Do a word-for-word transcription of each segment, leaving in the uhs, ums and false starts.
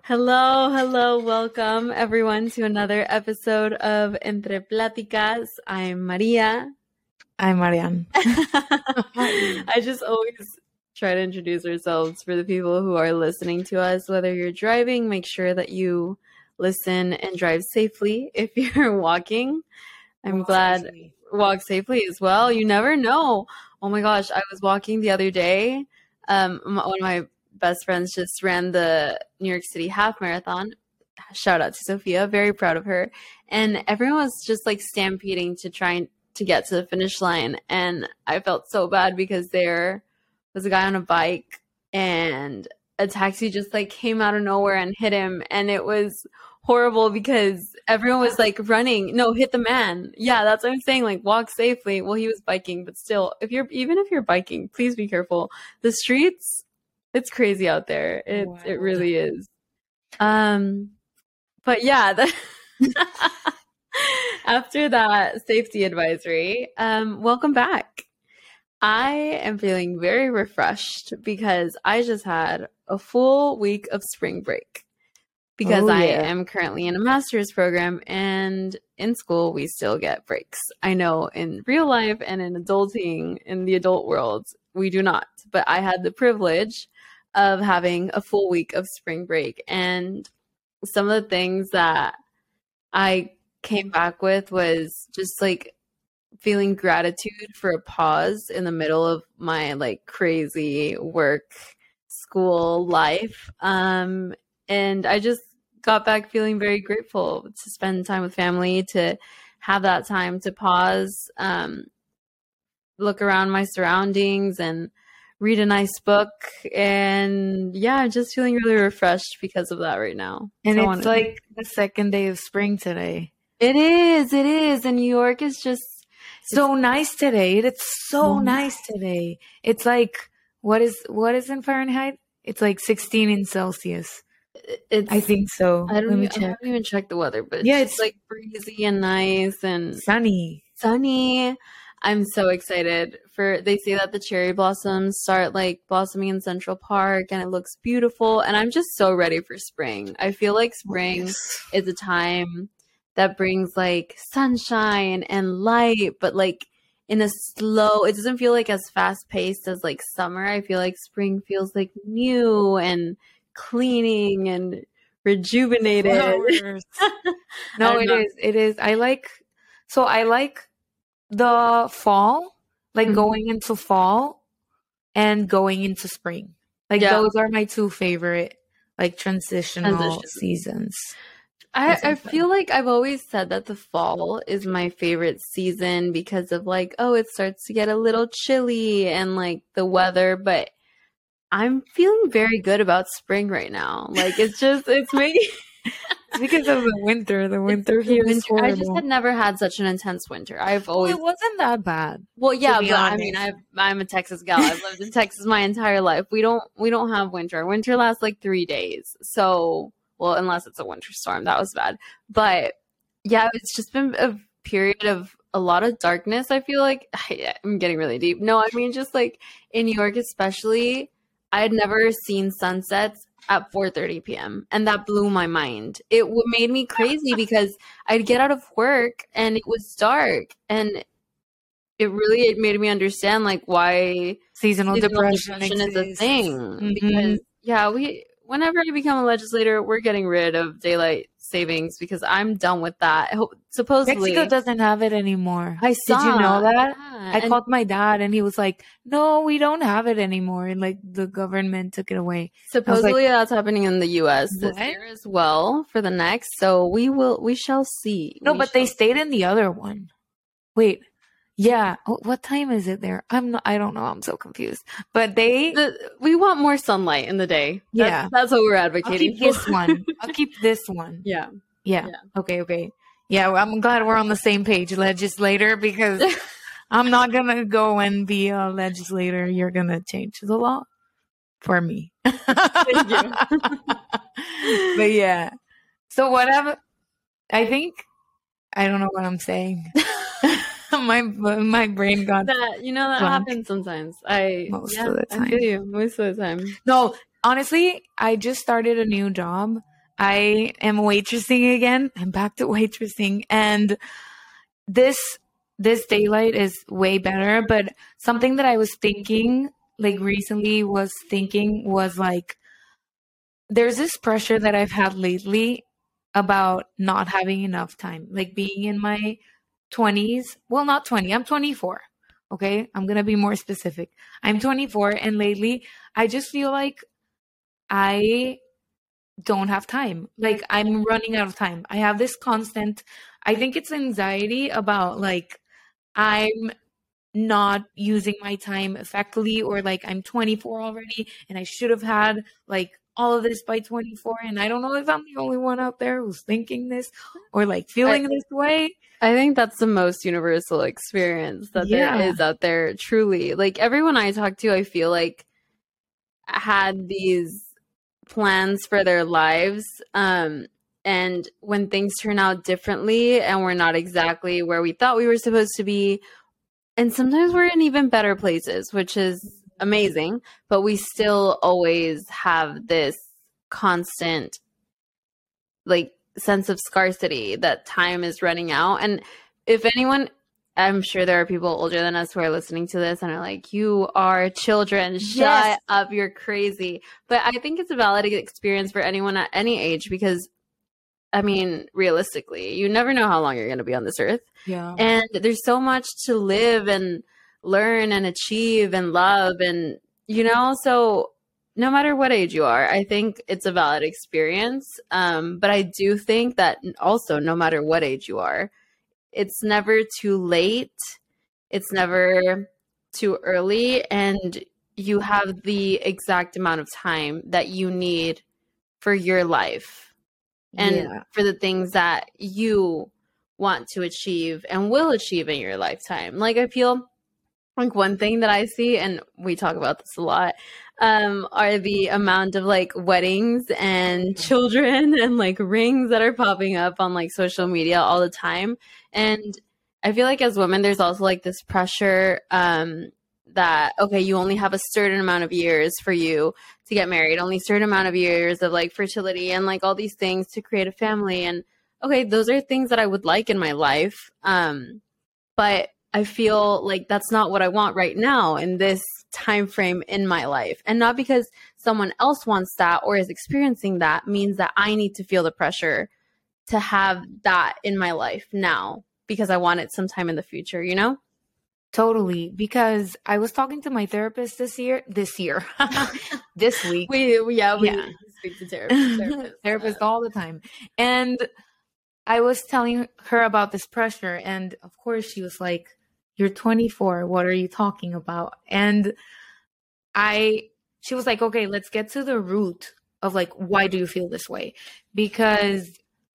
Hello, hello, welcome everyone to another episode of Entre Pláticas. I'm Maria. I'm Marianne. I just always try to introduce ourselves for the people who are listening to us. Whether you're driving, make sure that you listen and drive safely. If you're walking, I'm Walk glad safely. walk safely as well. You never know. Oh my gosh, I was walking the other day. Um, m- one of my best friends just ran the New York City half marathon. Shout out to Sophia, very proud of her. And everyone was just like stampeding to try and to get to the finish line. And I felt so bad because there was a guy on a bike and a taxi just like came out of nowhere and hit him. And it was horrible because everyone was like running. No, hit the man. Yeah, that's what I'm saying. Like walk safely. Well, he was biking, but still, if you're even if you're biking, please be careful. The streets, it's crazy out there. It Wow. it really is. Um, but yeah, the after that safety advisory, um, welcome back. I am feeling very refreshed because I just had a full week of spring break because Oh, I yeah. am currently in a master's program, and in school we still get breaks. I know in real life and in adulting, in the adult world, we do not. But I had the privilege of having a full week of spring break, and some of the things that I came back with was just like feeling gratitude for a pause in the middle of my like crazy work school life. Um, and I just got back feeling very grateful to spend time with family, to have that time to pause, um, look around my surroundings and read a nice book. And yeah, I'm just feeling really refreshed because of that right now. And So I it's wanted- like the second day of spring today. it is, it is. And New York is just So nice today. It's so Mhm. nice today. It's like what is what is in Fahrenheit? It's like sixteen in Celsius. it's I think so. I don't Let me even, I check. haven't even checked the weather, but Yeah, it's, it's- like breezy and nice and Sunny. sunny. I'm so excited for, they say that the cherry blossoms start like blossoming in Central Park and it looks beautiful. And I'm just so ready for spring. I feel like spring Yes. is a time that brings like sunshine and light, but like in a slow, it doesn't feel like as fast paced as like summer. I feel like spring feels like new and cleaning and rejuvenated. Flowers. I No, don't it know. is. It is. I like so I like the fall, like Mhm. going into fall and going into spring. Like Yeah. those are my two favorite like transitional Transitions. seasons. I, That's I okay. feel like I've always said that the fall is my favorite season because of like, oh, it starts to get a little chilly and like the weather, but I'm feeling very good about spring right now. Like it's just, it's making It's because of the winter. The winter the here is winter. I horrible. just had never had such an intense winter. I've Well, always, it wasn't that bad. well, yeah, be but I mean, honest. I've, I'm a Texas gal. I've lived in Texas my entire life. We don't, we don't have winter. Winter lasts like three days. So, well, unless it's a winter storm, that was bad. But yeah, it's just been a period of a lot of darkness. I feel like I'm getting really deep. No, I mean, just like in New York, especially, I had never seen sunsets at four thirty p.m. and that blew my mind. It w- made me crazy because I'd get out of work and it was dark, and it really it made me understand like why Seasonal, seasonal depression, depression is a exists. thing. Mhm. Because yeah, we whenever I become a legislator, we're getting rid of daylight savings because I'm done with that. I hope- Supposedly, Mexico doesn't have it anymore. I Did you saw- know that? yeah, I and- called my dad and he was like, "No, we don't have it anymore." And like the government took it away. Supposedly that's happening in the U S this What? year as well for the next. So we will, we shall see. No, We but they shall stayed in the other one. Wait. Yeah. Oh, what time is it there? I'm not, I don't know. I'm so confused. But they, The, we want more sunlight in the day. That's, Yeah. that's what we're I'll advocating. keep this for. one. I'll keep this one. Yeah. Yeah. Yeah. Okay. Okay. Yeah. Well, I'm glad we're on the same page, legislator, because I'm not going to go and be a legislator. You're going to change the law for me. Thank you. But yeah. So whatever. I think, I don't know what I'm saying. my my brain got That you know that blank. happens sometimes. I Most yeah, of the I feel time. you most of the time. No, honestly, I just started a new job I am waitressing again. I'm back to waitressing. And this this daylight is way better. But something that I was thinking, like recently was thinking was like, there's this pressure that I've had lately about not having enough time, like being in my twenties. Well, not twenty, I'm twenty-four. Okay. I'm going to be more specific. I'm twenty-four. And lately, I just feel like I don't have time. Like I'm running out of time. I have this constant, I think it's anxiety about like, I'm not using my time effectively, or like I'm twenty-four already and I should have had like all of this by twenty-four. And I don't know if I'm the only one out there who's thinking this or like feeling I, this way. I think that's the most universal experience that Yeah. there is out there, truly. Like everyone I talk to, I feel like had these plans for their lives. Um, and when things turn out differently and we're not exactly where we thought we were supposed to be, and sometimes we're in even better places, which is amazing, but we still always have this constant like sense of scarcity that time is running out. And if anyone, I'm sure there are people older than us who are listening to this and are like, you are children, shut Yes. up, you're crazy. But I think it's a valid experience for anyone at any age because, I mean, realistically, you never know how long you're going to be on this earth. Yeah. And there's so much to live and learn and achieve and love. And, you know, so no matter what age you are, I think it's a valid experience. Um, but I do think that also, no matter what age you are, it's never too late. It's never too early. And you have the exact amount of time that you need for your life and Yeah. for the things that you want to achieve and will achieve in your lifetime. Like I feel like one thing that I see, and we talk about this a lot, um, are the amount of like weddings and children and like rings that are popping up on like social media all the time. And I feel like as women, there's also like this pressure um, that, okay, you only have a certain amount of years for you to get married, only a certain amount of years of like fertility and like all these things to create a family. And okay, those are things that I would like in my life. Um, but I feel like that's not what I want right now in this time frame in my life. And not because someone else wants that or is experiencing that means that I need to feel the pressure to have that in my life now because I want it sometime in the future, you know? Totally. Because I was talking to my therapist this year, this year, this week. We, we yeah, we Yeah. speak to therapists. Therapist, therapist all the time. And I was telling her about this pressure. And of course, she was like, you're twenty-four. What are you talking about? And I, she was like, okay, let's get to the root of like, why do you feel this way? Because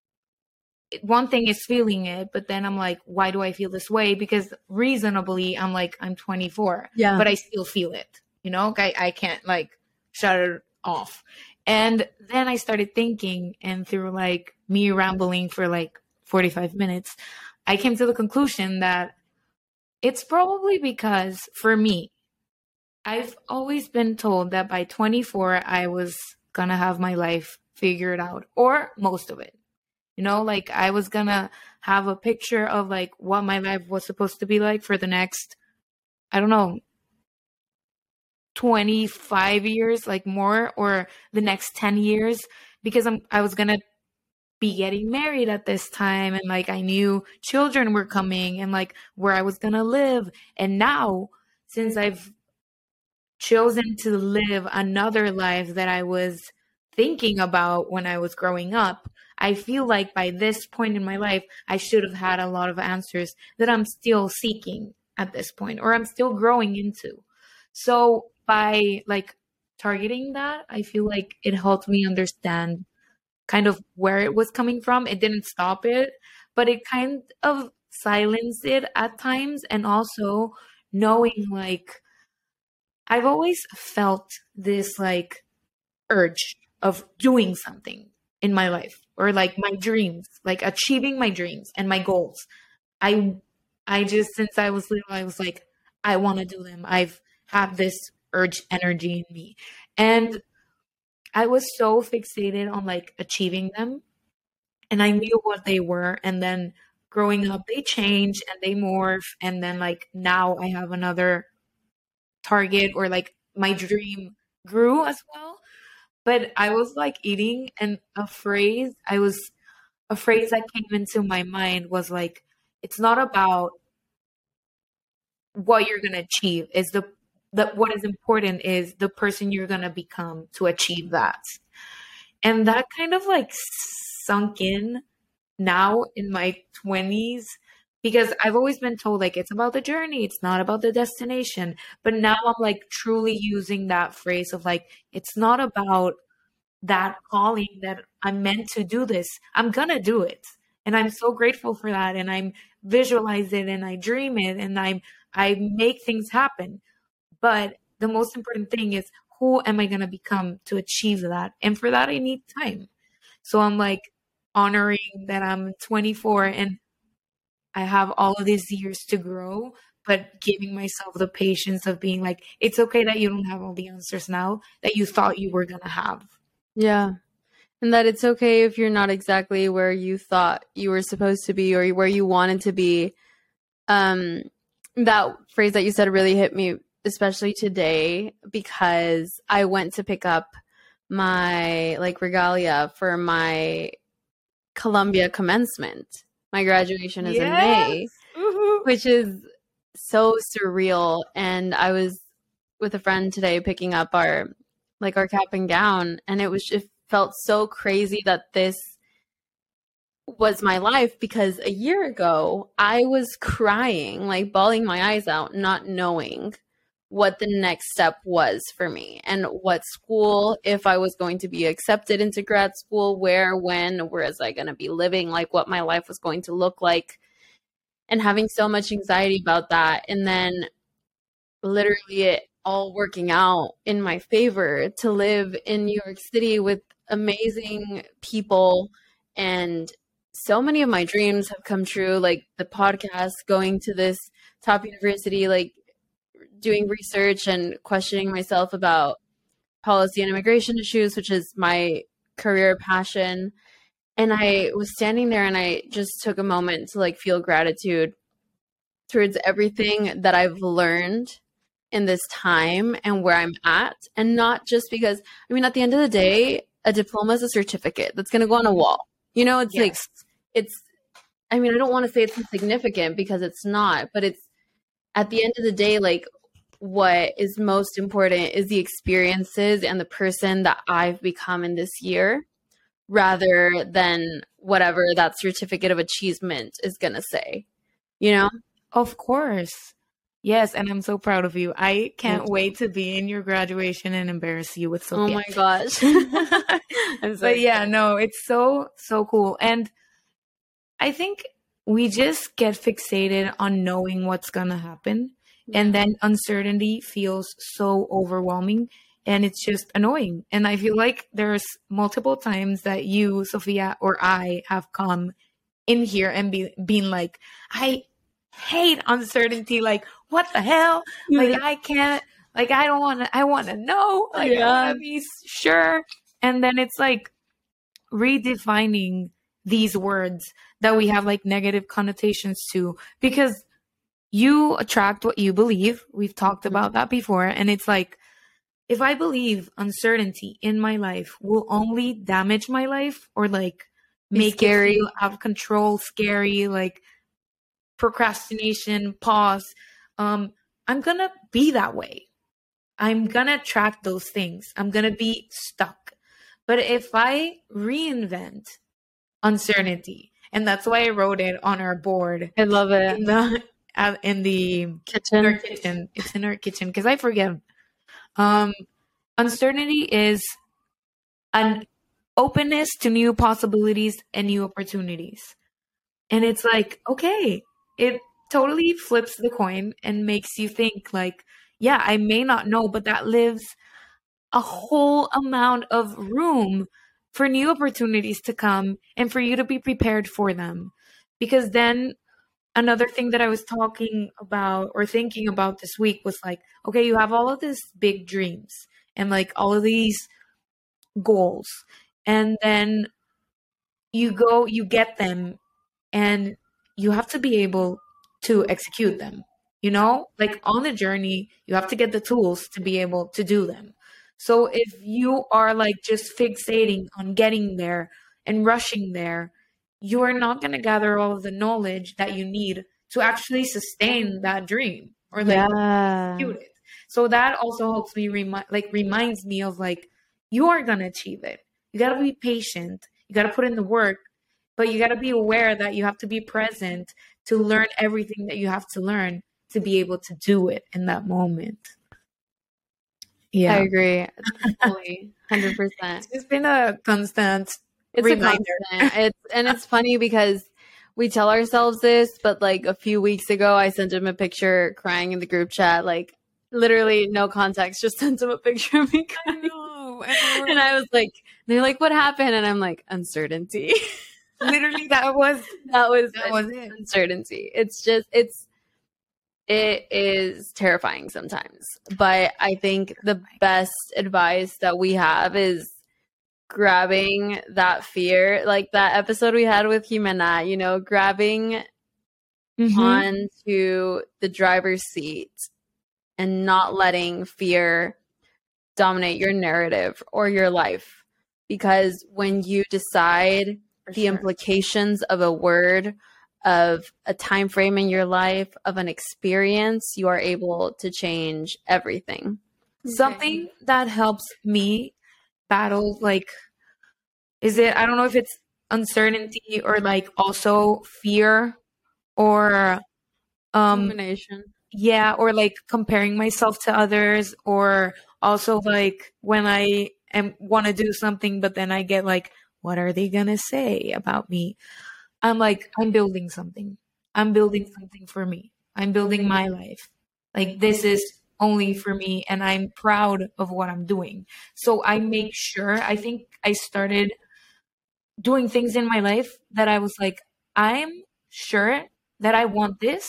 one thing is feeling it, but then I'm like, why do I feel this way? Because reasonably, I'm like, I'm twenty-four, Yeah. but I still feel it, you know, I, I can't like shut it off. And then I started thinking, and through like me rambling for like forty-five minutes, I came to the conclusion that it's probably because for me, I've always been told that by twenty-four, I was going to have my life figured out, or most of it. You know, like I was going to have a picture of like what my life was supposed to be like for the next, I don't know, twenty-five years, like more, or the next ten years, because I'm, I was going to be getting married at this time. And like, I knew children were coming and like where I was going to live. And now, since I've chosen to live another life that I was thinking about when I was growing up, I feel like by this point in my life, I should have had a lot of answers that I'm still seeking at this point, or I'm still growing into. So by like targeting that, I feel like it helped me understand kind of where it was coming from. It didn't stop it, but it kind of silenced it at times. And also knowing like, I've always felt this like urge of doing something in my life, or like my dreams, like achieving my dreams and my goals. I, I just, since I was little, I was like, I want to do them. I've had this urge energy in me. And I was so fixated on like achieving them, and I knew what they were. And then growing up, they change and they morph. And then like now I have another target, or like my dream grew as well. But I was like eating, and a phrase I was a phrase that came into my mind was like, it's not about what you're gonna achieve, is the that what is important is the person you're gonna become to achieve that. And that kind of like sunk in now in my twenties, because I've always been told like it's about the journey, it's not about the destination. But now I'm like truly using that phrase of like, it's not about that calling that I'm meant to do this. I'm gonna do it. And I'm so grateful for that. And I'm visualize it and I dream it and I'm I make things happen. But the most important thing is, who am I gonna become to achieve that? And for that I need time. So I'm like honoring that I'm twenty-four and I have all of these years to grow, but giving myself the patience of being like, it's okay that you don't have all the answers now that you thought you were gonna have. Yeah. And that it's okay if you're not exactly where you thought you were supposed to be or where you wanted to be. Um, that phrase that you said really hit me, especially today, because I went to pick up my like regalia for my Columbia commencement. My graduation is yes. in May, mm-hmm. which is so surreal. And I was with a friend today picking up our like our cap and gown, and it was it felt so crazy that this was my life, because a year ago I was crying, like bawling my eyes out, not knowing what the next step was for me and what school, if I was going to be accepted into grad school, where, when, where was I going to be living, like what my life was going to look like, and having so much anxiety about that. And then literally it all working out in my favor to live in New York City with amazing people, and so many of my dreams have come true, like the podcast, going to this top university, like doing research and questioning myself about policy and immigration issues, which is my career passion. And I was standing there and I just took a moment to like feel gratitude towards everything that I've learned in this time and where I'm at. And not just because, I mean, at the end of the day, a diploma is a certificate that's going to go on a wall. You know, it's yes. like, it's, I mean, I don't want to say it's insignificant because it's not, but it's at the end of the day, like what is most important is the experiences and the person that I've become in this year, rather than whatever that certificate of achievement is going to say, you know? Of course. Yes, and I'm so proud of you. I can't wait to be in your graduation and embarrass you with Sophia. Oh my gosh. I'm so but yeah, no, it's so, so cool. And I think we just get fixated on knowing what's going to happen. Yeah. And then uncertainty feels so overwhelming and it's just annoying. And I feel like there's multiple times that you, Sophia, or I have come in here and be, been like, I hate uncertainty. Like, what the hell? Like, I can't, like, I don't want to, I want to know. Like, yeah. I want to be sure. And then it's like redefining these words that we have like negative connotations to, because you attract what you believe. We've talked about that before. And it's like, if I believe uncertainty in my life will only damage my life or like make scary. It feel out of control, scary, like procrastination, pause, um, I'm going to be that way. I'm going to attract those things. I'm going to be stuck. But if I reinvent uncertainty, and that's why I wrote it on our board. I love it. In the, uh, in the kitchen. In our kitchen. It's in our kitchen because I forget. Um, uncertainty is an openness to new possibilities and new opportunities. And it's like, okay, it totally flips the coin and makes you think like, yeah, I may not know, but that lives a whole amount of room for new opportunities to come and for you to be prepared for them. Because then another thing that I was talking about or thinking about this week was like, okay, you have all of these big dreams and like all of these goals, and then you go, you get them, and you have to be able to execute them. You know, like on the journey, you have to get the tools to be able to do them. So if you are like just fixating on getting there and rushing there, you are not going to gather all of the knowledge that you need to actually sustain that dream or like Yeah. execute it. So that also helps me remind, like reminds me of like, you are going to achieve it. You got to be patient. You got to put in the work, but you got to be aware that you have to be present to learn everything that you have to learn to be able to do it in that moment. Yeah. I agree. Totally. one hundred percent. It's been a constant It's reminder. a constant. It's, and it's funny because we tell ourselves this, but like a few weeks ago, I sent him a picture crying in the group chat, like literally no context, just sent him a picture of me crying. I know, I know. And I was like, they're like, what happened? And I'm like, uncertainty. Literally, that was that was, that was it. Uncertainty. It's just, it's, it is terrifying sometimes. But I think the best advice that we have is grabbing that fear, like that episode we had with Jimena, you know, grabbing Mhm. onto the driver's seat and not letting fear dominate your narrative or your life. Because when you decide For the sure. implications of a word, of a time frame in your life, of an experience, you are able to change everything. Something that helps me battle, like, is it, I don't know if it's uncertainty or like also fear or, um, Combination. yeah, or like comparing myself to others, or also like when I am want to do something, but then I get like, what are they gonna say about me? I'm like, I'm building something. I'm building something for me. I'm building my life. Like this is only for me, and I'm proud of what I'm doing. So I make sure, I think I started doing things in my life that I was like, I'm sure that I want this,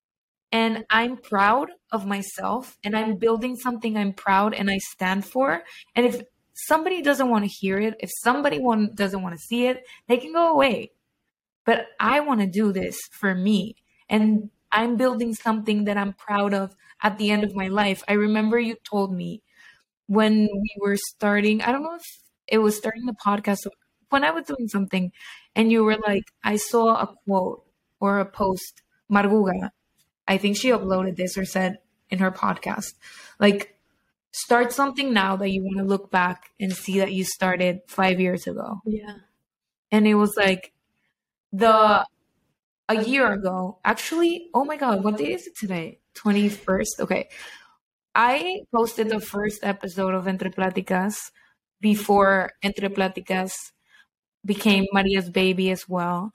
and I'm proud of myself, and I'm building something I'm proud and I stand for. And if somebody doesn't want to hear it, if somebody want, doesn't want to see it, they can go away. But I want to do this for me. And I'm building something that I'm proud of at the end of my life. I remember you told me when we were starting, I don't know if it was starting the podcast, when I was doing something, and you were like, I saw a quote or a post, Marguga, I think she uploaded this or said in her podcast, like, start something now that you want to look back and see that you started five years ago. Yeah. And it was like, the a year ago, actually, oh my God, what day is it today? twenty-first. Okay. I posted the first episode of Entre Pláticas before Entre Pláticas became Maria's baby as well.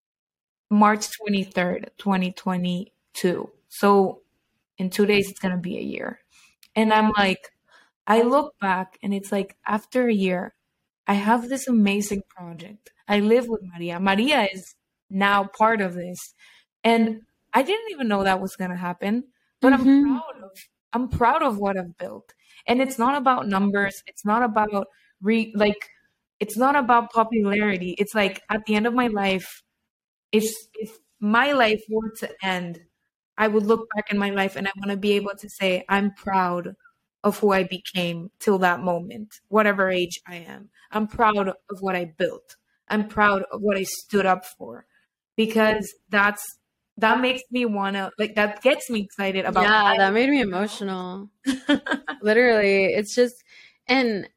March twenty-third, twenty twenty-two. So in two days, it's going to be a year. And I'm like, I look back and it's like, after a year, I have this amazing project. I live with Maria. Maria is now part of this. And I didn't even know that was going to happen, but Mhm. I'm proud of, I'm proud of what I've built. And it's not about numbers. It's not about re like, it's not about popularity. It's like at the end of my life, if, if my life were to end, I would look back in my life and I want to be able to say, I'm proud of who I became till that moment, whatever age I am. I'm proud of what I built. I'm proud of what I stood up for, because that's, that makes me want to, like, that gets me excited about. Yeah, my that made me life, you know? emotional. Literally, it's just, and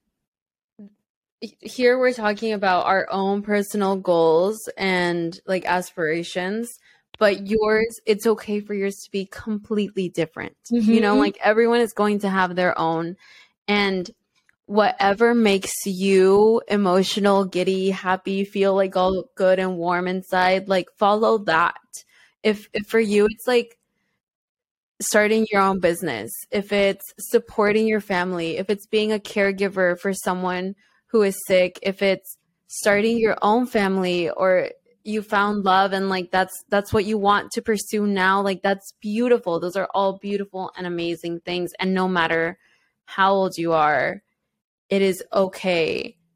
here we're talking about our own personal goals and like aspirations, but yours, it's okay for yours to be completely different. You know, Mhm. like everyone is going to have their own, and whatever makes you emotional, giddy, happy, feel like all good and warm inside, like follow that. If, if for you, it's like starting your own business, if it's supporting your family, if it's being a caregiver for someone who is sick, if it's starting your own family, or you found love and like that's that's what you want to pursue now, like that's beautiful. Those are all beautiful and amazing things. And no matter how old you are, it is okay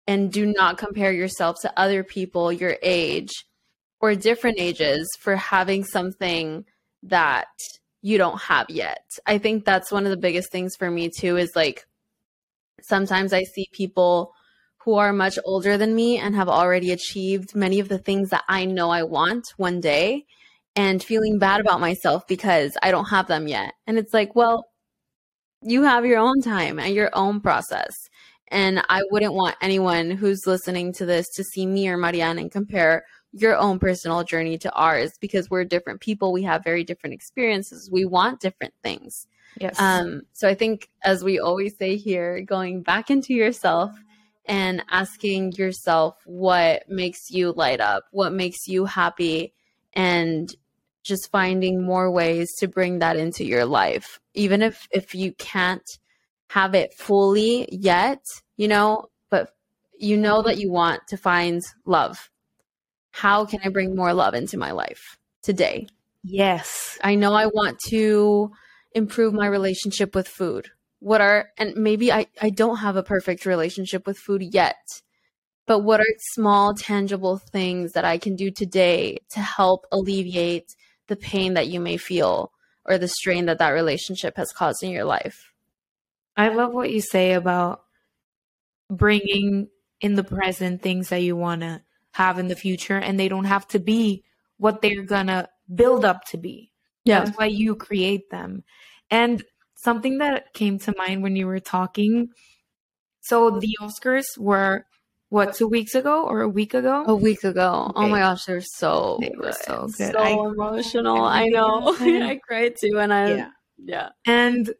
and do not compare yourself to other people your age or different ages for having something that you don't have yet. I think that's one of the biggest things for me too, is like sometimes I see people who are much older than me and have already achieved many of the things that I know I want one day, and feeling bad about myself because I don't have them yet. And it's like, well, you have your own time and your own process. And I wouldn't want anyone who's listening to this to see me or Marianne and compare your own personal journey to ours, because we're different people. We have very different experiences. We want different things. Yes. Um, so I think, as we always say here, going back into yourself and asking yourself what makes you light up, what makes you happy, and just finding more ways to bring that into your life. Even if, if you can't have it fully yet, you know, but you know that you want to find love. How can I bring more love into my life today? Yes. I know I want to improve my relationship with food. What are, and maybe I, I don't have a perfect relationship with food yet, but what are small, tangible things that I can do today to help alleviate the pain that you may feel or the strain that that relationship has caused in your life? I love what you say about bringing in the present things that you want to have in the future, and they don't have to be what they're gonna build up to be. Yeah. That's why you create them. And something that came to mind when you were talking, so the Oscars were what, two weeks ago or a week ago? A week ago. Okay. Oh my gosh, they're so They were good. so good. So I- emotional. I I know. cried. I cried too, and I Yeah. yeah. And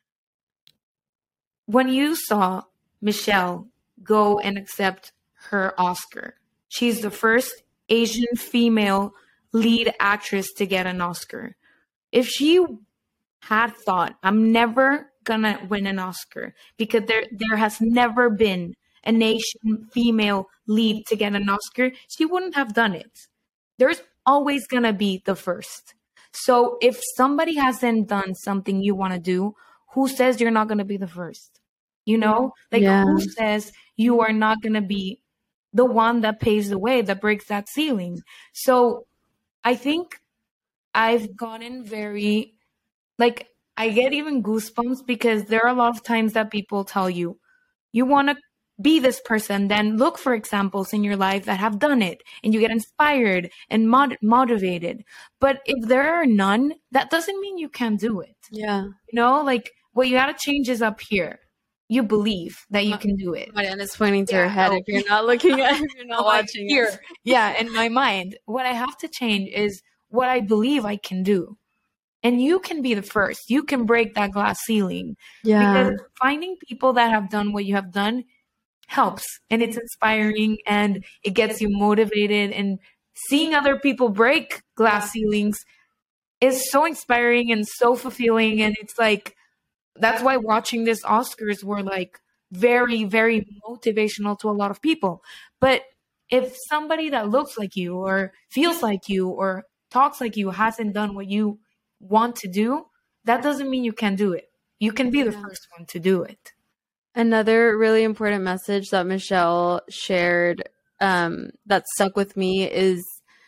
when you saw Michelle go and accept her Oscar, she's the first Asian female lead actress to get an Oscar. If she had thought, I'm never gonna win an Oscar because there there has never been an Asian female lead to get an Oscar, she wouldn't have done it. There's always gonna be the first. So if somebody hasn't done something you want to do, who says you're not gonna be the first? You know, like Yeah. who says you are not gonna be the one that paves the way, that breaks that ceiling? So I think I've gotten very, like, I get even goosebumps because there are a lot of times that people tell you, you want to be this person, then look for examples in your life that have done it, and you get inspired and mod- motivated. But if there are none, that doesn't mean you can't do it. Yeah. You know, like what you got to change is up here. You believe that you can do it. Marianne is pointing to Yeah, her head oh. if you're not looking at if you're not Oh, I'm watching here. us. Yeah, in my mind, what I have to change is what I believe I can do. And you can be the first. You can break that glass ceiling. Yeah. Because finding people that have done what you have done helps. And it's inspiring and it gets you motivated. And seeing other people break glass ceilings is so inspiring and so fulfilling. And it's like, that's why watching this Oscars were like very, very motivational to a lot of people. But if somebody that looks like you or feels like you or talks like you hasn't done what you want to do, that doesn't mean you can do it. You can be the Yeah. first one to do it. Another really important message that Michelle shared um, that stuck with me is,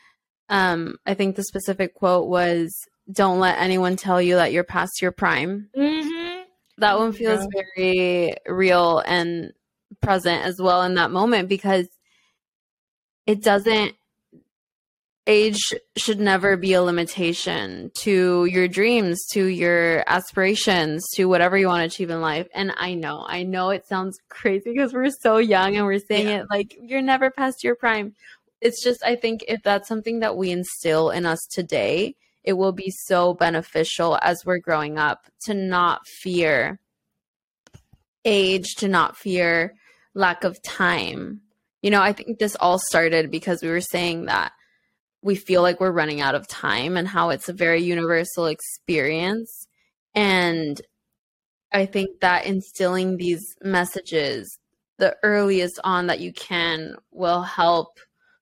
um, I think the specific quote was, "Don't let anyone tell you that you're past your prime." Mm-hmm. That one feels Yeah. very real and present as well in that moment, because it doesn't, age should never be a limitation to your dreams, to your aspirations, to whatever you want to achieve in life. And I know, I know it sounds crazy because we're so young and we're saying Yeah. it like you're never past your prime. It's just, I think if that's something that we instill in us today, it will be so beneficial as we're growing up to not fear age, to not fear lack of time. You know, I think this all started because we were saying that we feel like we're running out of time and how it's a very universal experience. And I think that instilling these messages the earliest on that you can will help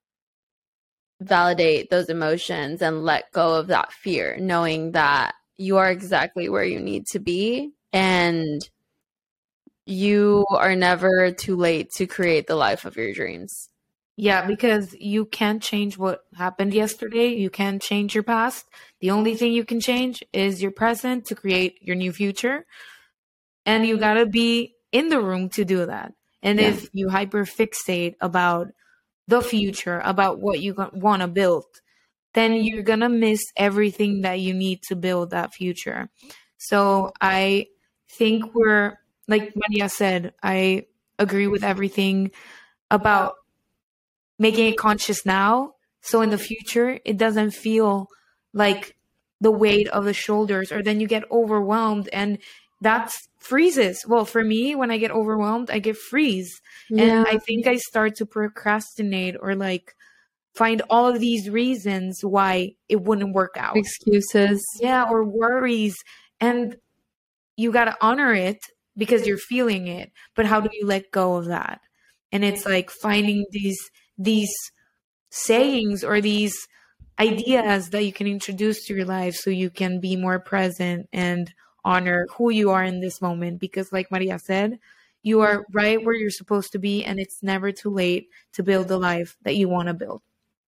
validate those emotions and let go of that fear, knowing that you are exactly where you need to be. And you are never too late to create the life of your dreams. Yeah, because you can't change what happened yesterday. You can't change your past. The only thing you can change is your present to create your new future. And you gotta be in the room to do that. And Yeah. if you hyperfixate about the future, about what you want to build, then you're gonna miss everything that you need to build that future. So I think we're, like Maria said, I agree with everything about making it conscious now. So in the future, it doesn't feel like the weight of the shoulders, or then you get overwhelmed and that's freezes. Well, for me, when I get overwhelmed, I get freeze. Yeah. And I think I start to procrastinate or like find all of these reasons why it wouldn't work out. Excuses. Yeah, or worries. And you got to honor it because you're feeling it. But how do you let go of that? And it's like finding these these sayings or these ideas that you can introduce to your life so you can be more present and honor who you are in this moment. Because like Maria said, you are right where you're supposed to be, and it's never too late to build the life that you want to build.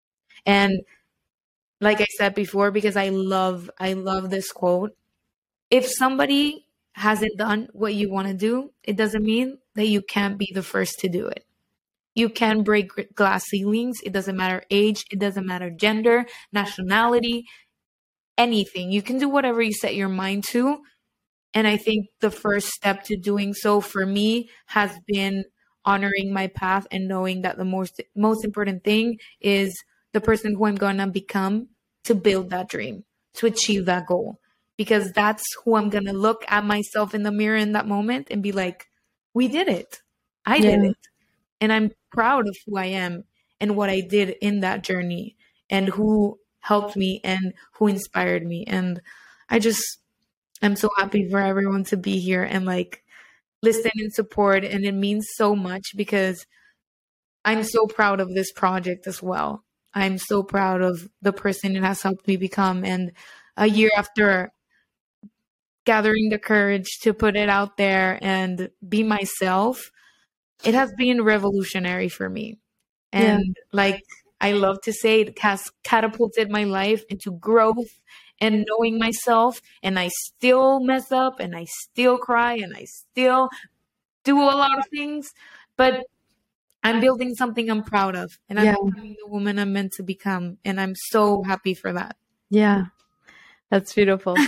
And like I said before, because I love I love this quote, if somebody hasn't done what you want to do, it doesn't mean that you can't be the first to do it. You can break glass ceilings. It doesn't matter age. It doesn't matter gender, nationality, anything. You can do whatever you set your mind to. And I think the first step to doing so for me has been honoring my path and knowing that the most most important thing is the person who I'm going to become to build that dream, to achieve that goal. Because that's who I'm going to look at myself in the mirror in that moment and be like, we did it. I Yeah. did it. And I'm proud of who I am and what I did in that journey and who helped me and who inspired me. And I just, I'm so happy for everyone to be here and like listen and support. And it means so much because I'm so proud of this project as well. I'm so proud of the person it has helped me become. And a year after gathering the courage to put it out there and be myself, it has been revolutionary for me. And yeah. like I love to say, it has catapulted my life into growth and knowing myself. And I still mess up and I still cry and I still do a lot of things, but I'm building something I'm proud of, and I'm yeah. becoming the woman I'm meant to become. And I'm so happy for that. Yeah, that's beautiful.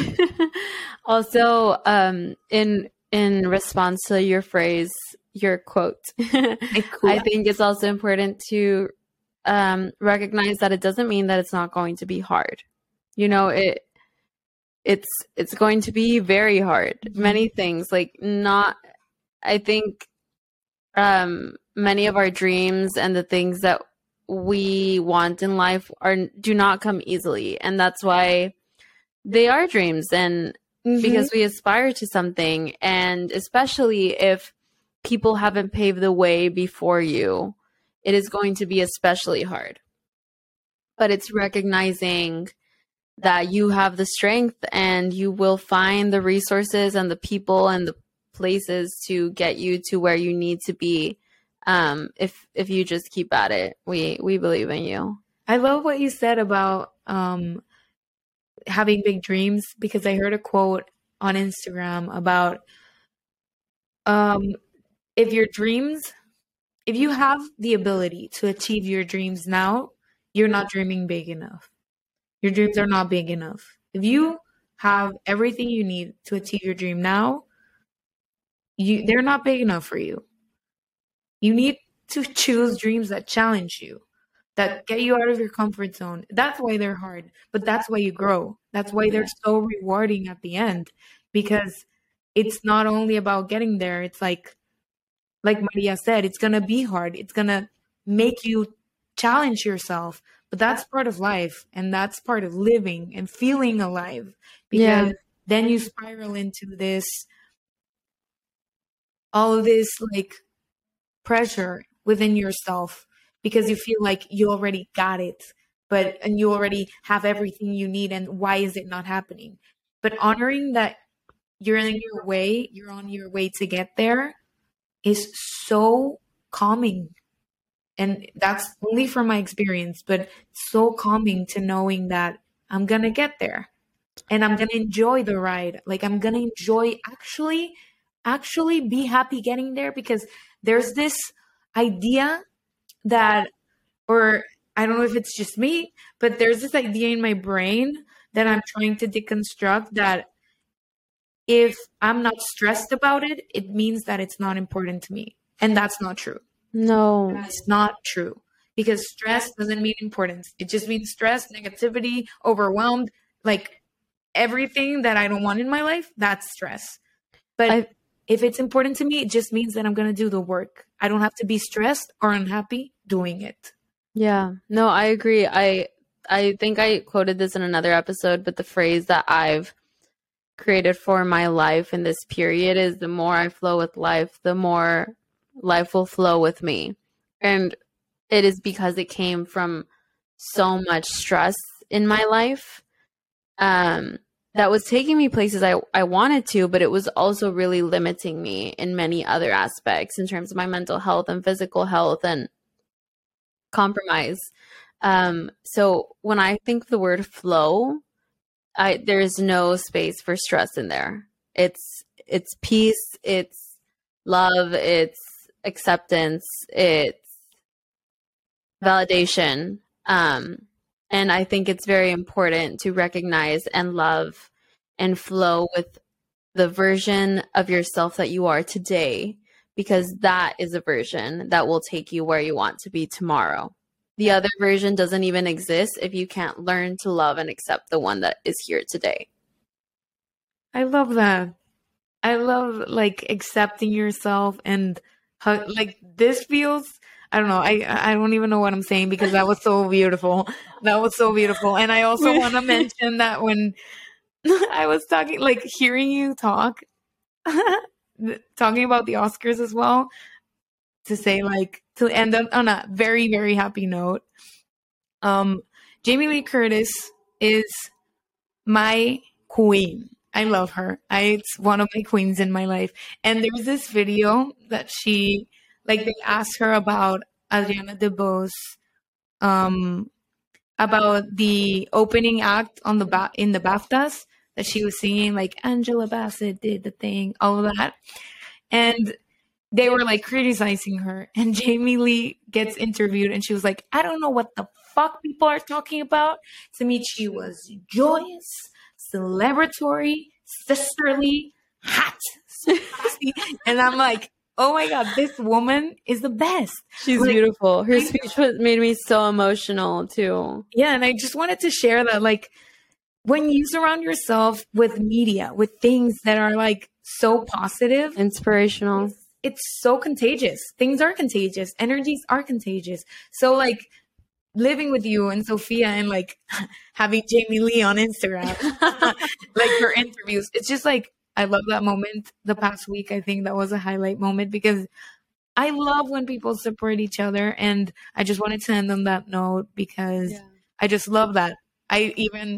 Also, um, in in response to your phrase, your quote, I think it's also important to um, recognize that it doesn't mean that it's not going to be hard. You know, it it's it's going to be very hard. Mm-hmm. Many things, like not, I think um, many of our dreams and the things that we want in life are do not come easily, and that's why they are dreams. And mm-hmm. because we aspire to something, and especially if people haven't paved the way before you, it is going to be especially hard. But it's recognizing that you have the strength and you will find the resources and the people and the places to get you to where you need to be. Um, if if you just keep at it, we we believe in you. I love what you said about um, having big dreams, because I heard a quote on Instagram about um, if your dreams, if you have the ability to achieve your dreams now, you're not dreaming big enough. Your dreams are not big enough. If you have everything you need to achieve your dream now, you they're not big enough for you. You need to choose dreams that challenge you, that get you out of your comfort zone. That's why they're hard, but that's why you grow. That's why they're so rewarding at the end, because it's not only about getting there. It's like, like Maria said, it's going to be hard. It's going to make you challenge yourself, but that's part of life, and that's part of living and feeling alive, because yeah. then you spiral into this, all of this like pressure within yourself, because you feel like you already got it, but and you already have everything you need, and why is it not happening? But honoring that you're in your way, you're on your way to get there, is so calming. And that's only from my experience, but so calming to knowing that I'm going to get there and I'm going to enjoy the ride. Like I'm going to enjoy actually, actually be happy getting there, because there's this idea that, or I don't know if it's just me, but there's this idea in my brain that I'm trying to deconstruct, that if I'm not stressed about it, it means that it's not important to me. And that's not true. No. That's not true. Because stress doesn't mean importance. It just means stress, negativity, overwhelmed, like everything that I don't want in my life, that's stress. But I, if it's important to me, it just means that I'm going to do the work. I don't have to be stressed or unhappy doing it. Yeah. No, I agree. I I think I quoted this in another episode, but the phrase that I've created for my life in this period is, the more I flow with life, the more life will flow with me. And it is because it came from so much stress in my life um, that was taking me places I, I wanted to, but it was also really limiting me in many other aspects in terms of my mental health and physical health and compromise. Um, so when I think the word flow, I, there's no space for stress in there. It's, it's peace, it's love, it's acceptance, it's validation. Um, and I think it's very important to recognize and love and flow with the version of yourself that you are today, because that is a version that will take you where you want to be tomorrow. The other version doesn't even exist if you can't learn to love and accept the one that is here today. I love that. I love like accepting yourself and how, like this feels, I don't know. I I don't even know what I'm saying, because that was so beautiful. That was so beautiful. And I also want to mention that when I was talking, like hearing you talk, talking about the Oscars as well, to say like, to end up on a very, very happy note. Um, Jamie Lee Curtis is my queen. I love her. I, it's one of my queens in my life. And there's this video that she, like they asked her about Adriana DeBose, um, about the opening act on the ba- in the BAFTAs, that she was singing like Angela Bassett did the thing, all of that. And they were like criticizing her, and Jamie Lee gets interviewed and she was like, I don't know what the fuck people are talking about. To me, she was joyous, celebratory, sisterly, hot. And I'm like, oh my God, this woman is the best. She's like, beautiful. Her speech was, made me so emotional too. Yeah. And I just wanted to share that, like, when you surround yourself with media, with things that are like so positive, inspirational, it's, it's so contagious. Things are contagious. Energies are contagious. So like living with you and Sophia and like having Jamie Lee on Instagram, like her interviews, it's just like, I love that moment. The past week, I think that was a highlight moment, because I love when people support each other. And I just wanted to end on that note, because yeah. I just love that. I even,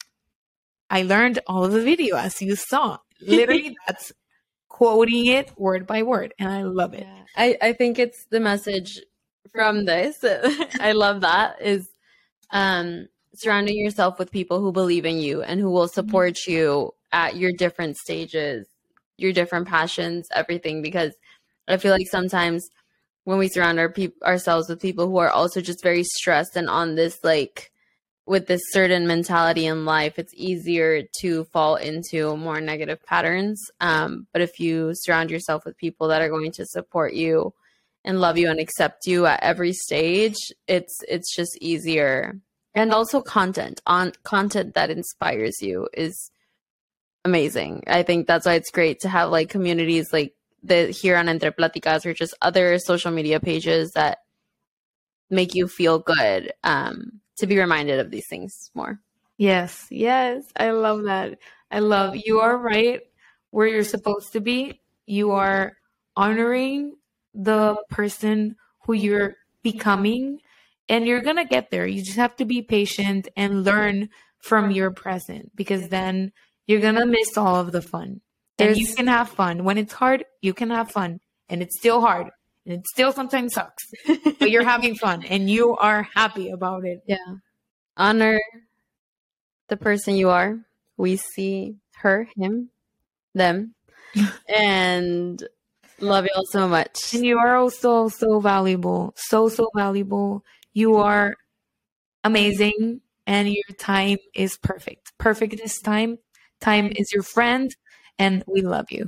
I learned all of the video, as you saw. Literally, that's quoting it word by word. And I love it. Yeah. I, I think it's the message from this. I love that, is um, surrounding yourself with people who believe in you and who will support mm-hmm. you at your different stages, your different passions, everything. Because I feel like sometimes when we surround our pe- ourselves with people who are also just very stressed and on this, like, with this certain mentality in life, it's easier to fall into more negative patterns. Um, but if you surround yourself with people that are going to support you and love you and accept you at every stage, it's it's just easier. And also content on content that inspires you is amazing. I think that's why it's great to have like communities like the here on Entre Platicas, or just other social media pages that make you feel good, um, to be reminded of these things more. Yes, yes. I love that. I love, you are right where you're supposed to be. You are honoring the person who you're becoming, and you're going to get there. You just have to be patient and learn from your present, because then you're going to miss all of the fun. And you can have fun. When it's hard, you can have fun. And it's still hard. And it still sometimes sucks. But you're having fun. And you are happy about it. Yeah. Honor the person you are. We see her, him, them. And love y'all so much. And you are also so valuable. So, so valuable. You are amazing. And your time is perfect. Perfect this time. Time is your friend. And we love you.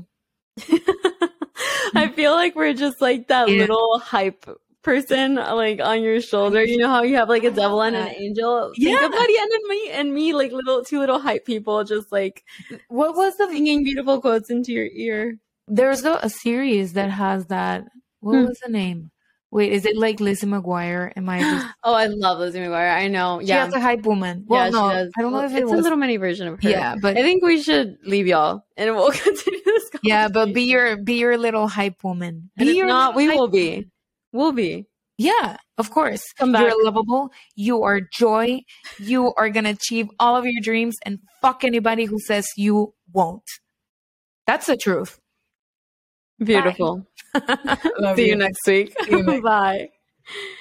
I feel like we're just like that Yeah. little hype person like on your shoulder. You know how you have like a devil and an angel? Think Yeah. of Mariana and me and me, like little two little hype people just like What was the singing beautiful quotes into your ear. There's a, a series that has that. What Hmm. was the name? Wait, is it like Lizzie McGuire? Am I just Oh, I love Lizzie McGuire. I know. She Yeah. has a hype woman. Well, yeah, no, she does. I don't know Well, if it it's was. a little mini version of her. Yeah, but I think we should leave y'all and we'll continue this conversation. yeah, but be your be your little hype woman. And Be if your not, little we hype will be. woman. We'll be. Yeah, of course. Come back. You're lovable. You are joy. You are gonna achieve all of your dreams, and fuck anybody who says you won't. That's the truth. Beautiful. Love See you you. next week. See you next- Bye.